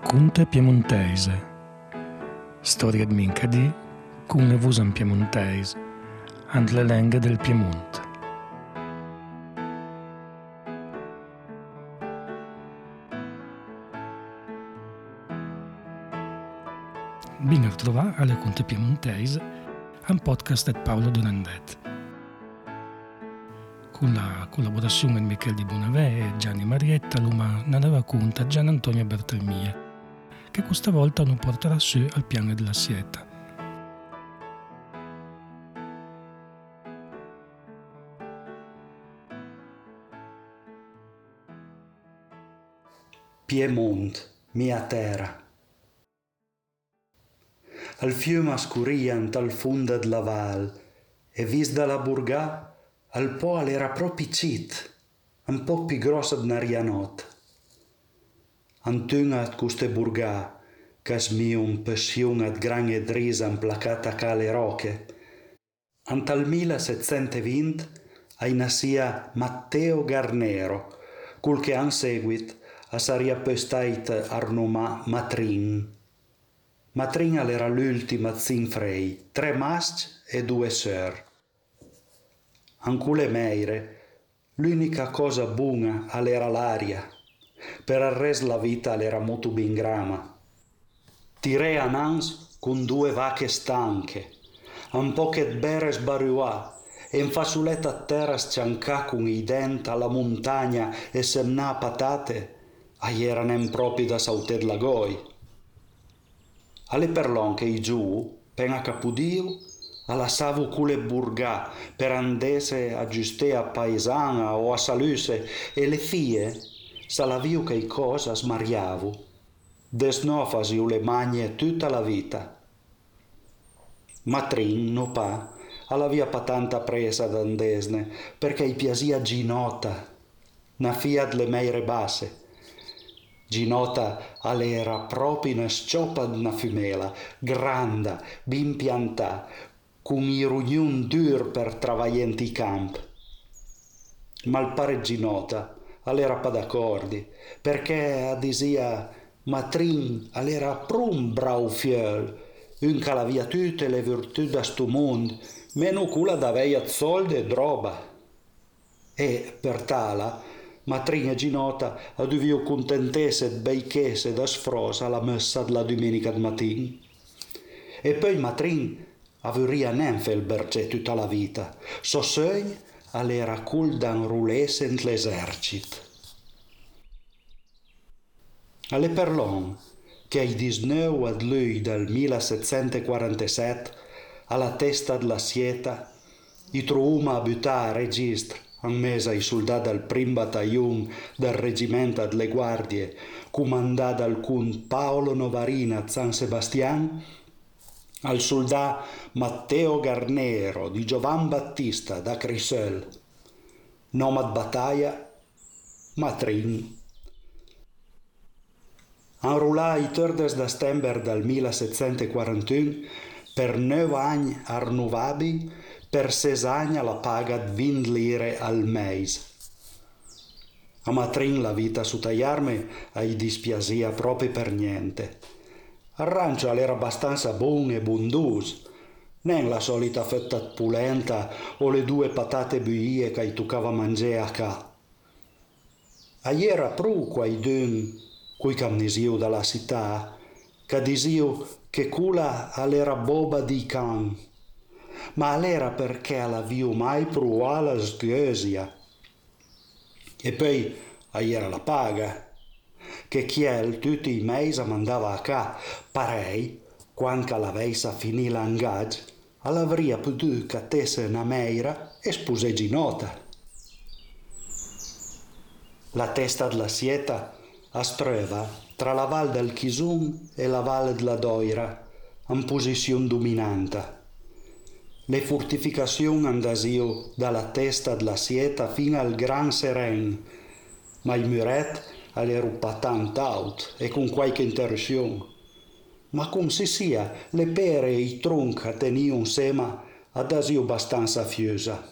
Racconte piemontese. Storia di Mincadì, con le vusan piemontese, and le lenghe del Piemonte. Ben a trovare alle Conte Piemontese, un podcast di Paolo Donandet. Con la collaborazione di Michele Di Bonavè e Gianni Marietta, l'uma ne racconta Gian Antonio Bertelmia, che questa volta non porterà su al piano della Sieta. Piemont, mia terra. Al fiume scuriant al funda de la val, e vis da la burgà, al poal era proprio cit, un po' più grossa di Narianot. Antüngat custe burgà, cas miun passiunat gran e drisa placata cale roche. Antal 1720 ai nasia Matteo Garnero, cul che an seguit a saria pestait arnumà Matrin. Matrin era l'ultima zinfrei, 3 maschi e 2 sœur. Ancule meire, l'unica cosa buona era l'aria, per il resto la vita era molto ben grama. Tirei a nans con 2 vacche stanche, un pocket bere sbaruà, e in fasuletta a terra sciancà con i denti alla montagna e semnà patate, erano proprio da sauter la goi. Alle perlon che i giù, pena capudio, alla savu cule burgà per andese a giuste a paesana o a saluse, e le fie, salaviu che i cosa smariavu, desnofasiu le magne tutta la vita. Matrin, no pa, alla via patanta presa d'andesne, perché i piasia Ginota, na fia delle meire basse. Ginota era proprio una scioppa d'una fumela, granda, ben piantà, con i rugnun dur per travaglienti i camp. Ma il pare Ginota era pa d'accordi, perché disia Matrin era prum brau fiel, un che aveva tutte le virtù da sto mondo, meno quella d'aveia soldi e droba. E per tala Matrin e Ginota dovevo contentesse e beichesse da sfrosa alla messa della domenica di mattina. E poi Matrin aveva neanche il berge tutta la vita. So sogno era cul dan rulesse in l'esercito. Alle perlon che il 19 luglio del 1747 alla testa della Sieta i trovuma a buttare a registro in mesa i soldati del prim battaglione del reggimento delle guardie comandato dal cun Paolo Novarina a San Sebastian, al soldato Matteo Garnero di Giovan Battista da Crisel, nome di battaglia Matrin. Enrollà i 3 de settembre del 1741 per 9 anni arnovabi, per 6 anni alla paga di 20 lire al mese. A Matrin la vita su tagliarme gli dispiacia proprio per niente. Il rancio era abbastanza buono e bundoso, non la solita fetta pulenta o le 2 patate buie che toccava mangiare a ca. Era pru quei dun, cui camnesiu dalla città, che disiu che quella era boba di can, ma era perché la viu mai pruà la sghesia. E poi era la paga, che chiel tutti i mesi mandava a ca, parei, quando l'avesse finì l'angaggio, l'avria potuto cattesse una meira e spuse Ginota. La testa della Sieta es trova tra la Val del Chisun e la Valle della Doira, in posizione dominante. Le fortificazioni andasiu dalla testa della Sieta fino al Gran Seren, ma i muret erano patant out e con qualche interruzione. Ma come si sia, le pere e i tronchi tenivano sema andasiu abbastanza fiosa.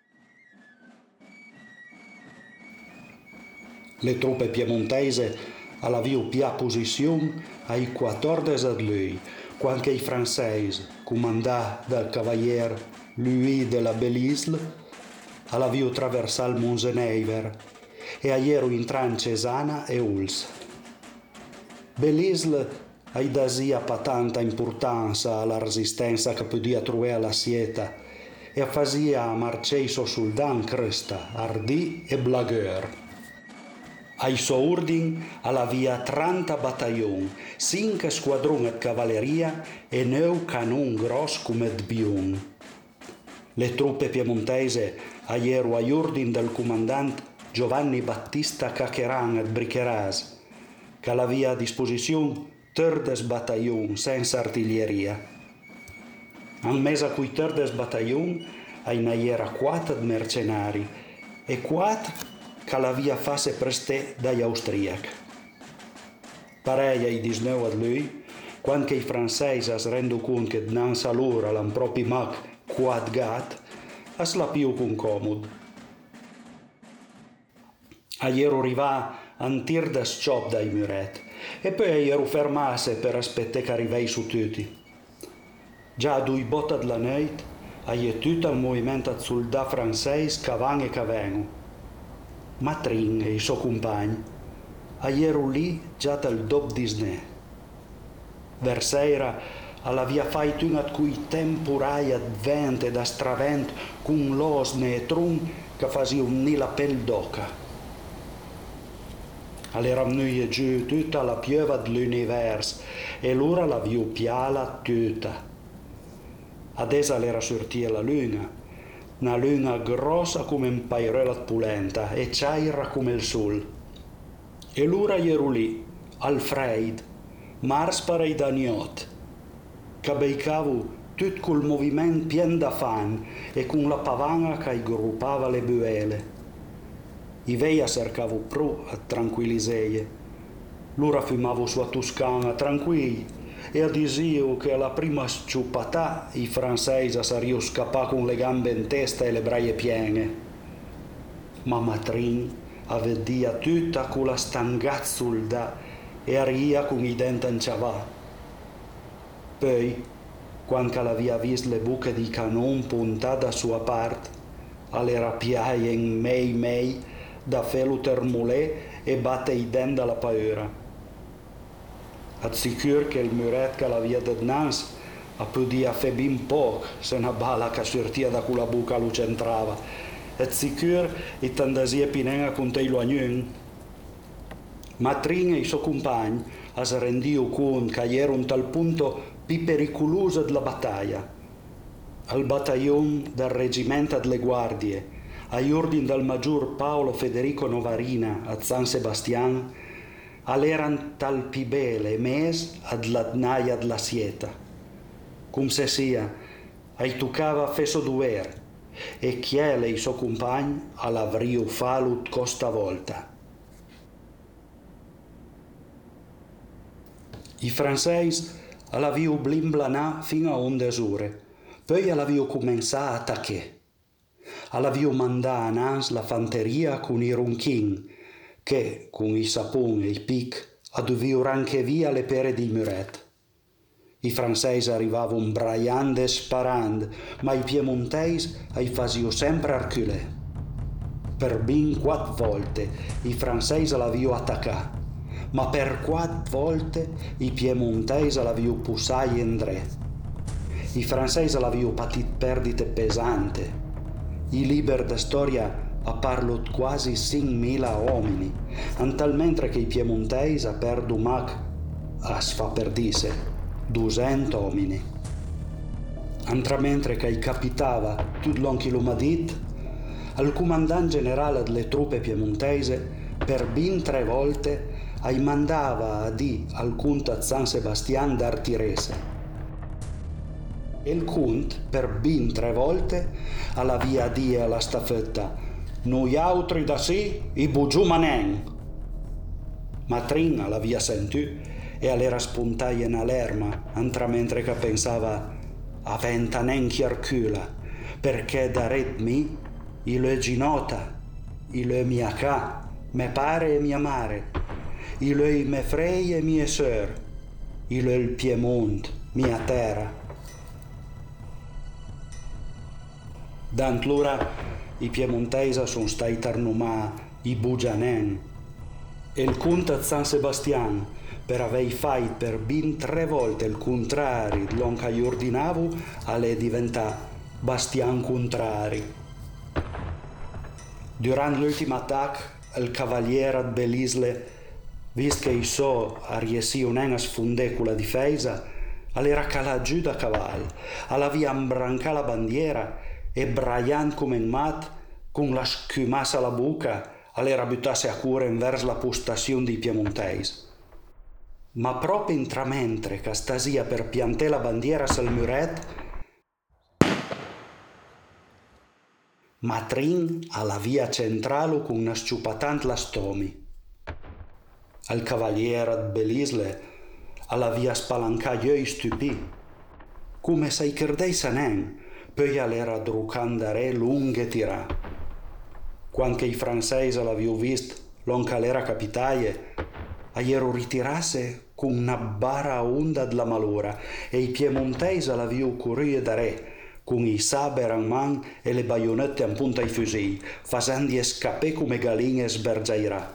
Le truppe piemontese alla viu pia posizione ai 14 di lui, quando i francesi, comandati dal cavalier Louis de la Bellisle, alla viu traversare il Monseneiver e aiero in Cesana e Uls. Bellisle ai dasia pa tanta importanza alla resistenza che podia trovare alla sieta e fazia marcei so soldan cresta, ardì e blagueur. Ai suo ordine alla via 30 battaglioni, 5 squadroni di cavalleria e 9 canon gros come d'bion. Le truppe piemontese aiero agli ordini del comandante Giovanni Battista Cacheran di Bricheras, che aveva a disposizione 13 battaglioni senza artiglieria. Al mese a cui 13 battaglioni ai naiera 4 di mercenari e 4 che l'aveva fatte prestare dagli austriaci. Pareil ai 19 di lui, quando i francesi si rendono conto che non sa loro l'hanno proprio mac 4 gat, si la più con comodo. Aiero arriva un tir da sciop dai muretti e poi aiero fermasse per aspettare che arrivai su tutti. Già a 2 botte della notte aiero tutto il movimento di soldati francesi che vanno e che vengono. Matrin e i suoi compagni aiero lì già dal dopo di sne. Versera alla via fatto una di quei temporai ad vento e da stravento con l'osne e tron che faceva unire la pelle d'oca. All'era venuta giù tutta la piova dell'universo e l'ora la viu piala tutta. Adesso all'era sortita la luna, una luna grossa come un pairella pulenta e ciaira come il sole. E l'ora ero lì, al freddo, mars parei da niot, che beicavo tutto col movimento pieno da fan e con la pavana che gruppava le buele. I veia cercavo pro a tranquillizzare. L'ora fumavo sua Toscana tranquilli e adisio che alla prima sciupatà i francesi sarebbero scappati con le gambe in testa e le braie piene. Ma Matrin avvedia tutta con la stangazzulda e aria con i denti inciavà. Poi, quando l'aveva visto le buche di canon puntate a sua parte, all'era piaia in mei da felo termolè e batte i denti dalla paura. Assicur che il muret che l'aveva da dinanzi podia fare ben poco se una bala che sortia da quella buca lo centrava. Assicur e tandasia pinenga con te lo agnon. Matrin e i suoi compagni si rendiano conto che era un tal punto più pericoloso della battaglia. Al battaglione del reggimento delle guardie, agli ordini del maggior Paolo Federico Novarina a San Sebastian, all'eran tal pibele mes ad l'adnaia della sieta. Come se sia, ai toccava fesso duer, e chiele i suoi compagni all'avrio falut costa volta. I francesi all'avio blimblanà fino a 11 ore, poi all'avio cominciato a attaccare. All'avio mandà a Nans la fanteria con i ronchin, che, con i saponi e i pic, adovio anche via le pere di muret. I francesi arrivavano braiando e sparando, ma i piemontesi ai fasio sempre arculè. Per ben 4 volte i francesi l'avio attaccato, ma per 4 volte i piemontesi l'avio pussato in dretto. I francesi l'avio patito perdite pesanti. I liberi da storia parlo quasi 5.000 uomini, mentre che i piemontesi perdu mac a sfa perdise 200 uomini. Mentre che capitava tutto l'onchilumadit, al comandante generale delle truppe piemontese per ben 3 volte mandava a di al conte a San Sebastian d'Artirese. E il conte per ben 3 volte alla via di alla staffetta noi altri da sì i bugiù manen. Matrin la via sentì e all'era spuntai in alerma, mentre che pensava a ventanen chiarcula, perché da redmi il ginota, il miacà, me pare e mia mare, il è me frei e mie sœur, il è il Piemont, mia terra. D'antlura i piemontesi sono stati tarnumà i Bugianen e il conte San Sebastian per aver fatto per ben 3 volte il contrario di quello che gli ordinavo alle diventa Bastian contrari. Durante l'ultimo attacco il cavaliere di Belisle, visto che i so a riessi un sfondere con la difesa, all'era calà giù da cavallo, alla via imbranca la bandiera e braiant come un mat, con la scumassa alla bocca, all'era buttarsi a cuore verso la postazione dei piemontesi. Ma proprio intramentre che stasia per piantare la bandiera sul muret, Matrin alla via centrale con una sciupatant la stomi. Al cavaliere di Belisle alla via spalancaio stupì, come se i credei sanen, poi all'era drucandare lunghe tirà. Quando i francesi l'avevano visto, l'onca l'era capitaie, aiero ritirasse con una bara onda della malora e i piemontesi l'avevano correre da re, con i saber in man e le baionette in punta ai fucili, facendo scappare come galline sbergiairà.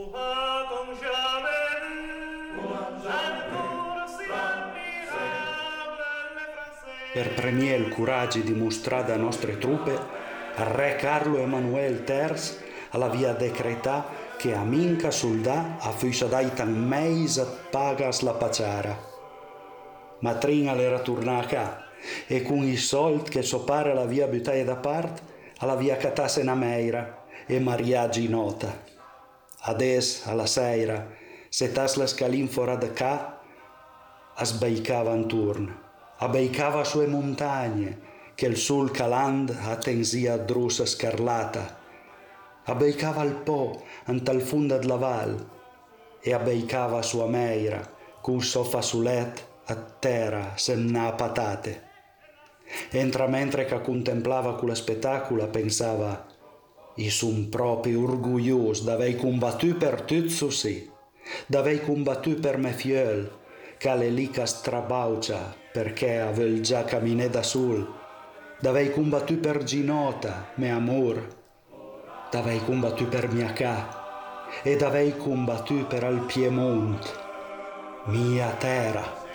Per premiare il coraggio dimostrato dalle nostre truppe, re Carlo Emanuele III aveva decretato che a minca soldà fosse data un mese pagas la paciara. Matrin era tornata a casa e con i soldi che suo padre l'aveva buttati da parte, l'aveva cattata una meira e mariaggi nota. Adesso, alla sera, se tas la scalin fuori da casa, sbeicava intorno. Abbeicava sue montagne, che il sol caland attensia drusa scarlata. Abbeicava il Po, in tal funda della val, e abbeicava sua meira, con suo fasulet a terra, semna patate. Entra mentre che contemplava quello spettacolo, pensava, i son proprio orgoglioso d'aver combattuto per tutto sì, d'aver combattuto per me fiel, che le lica strabaucia perché avevo già camminato da sol, d'aver combattuto per Ginota, mio amor, d'aver combattuto per mia ca e d'aver combattuto per il Piemont, mia terra.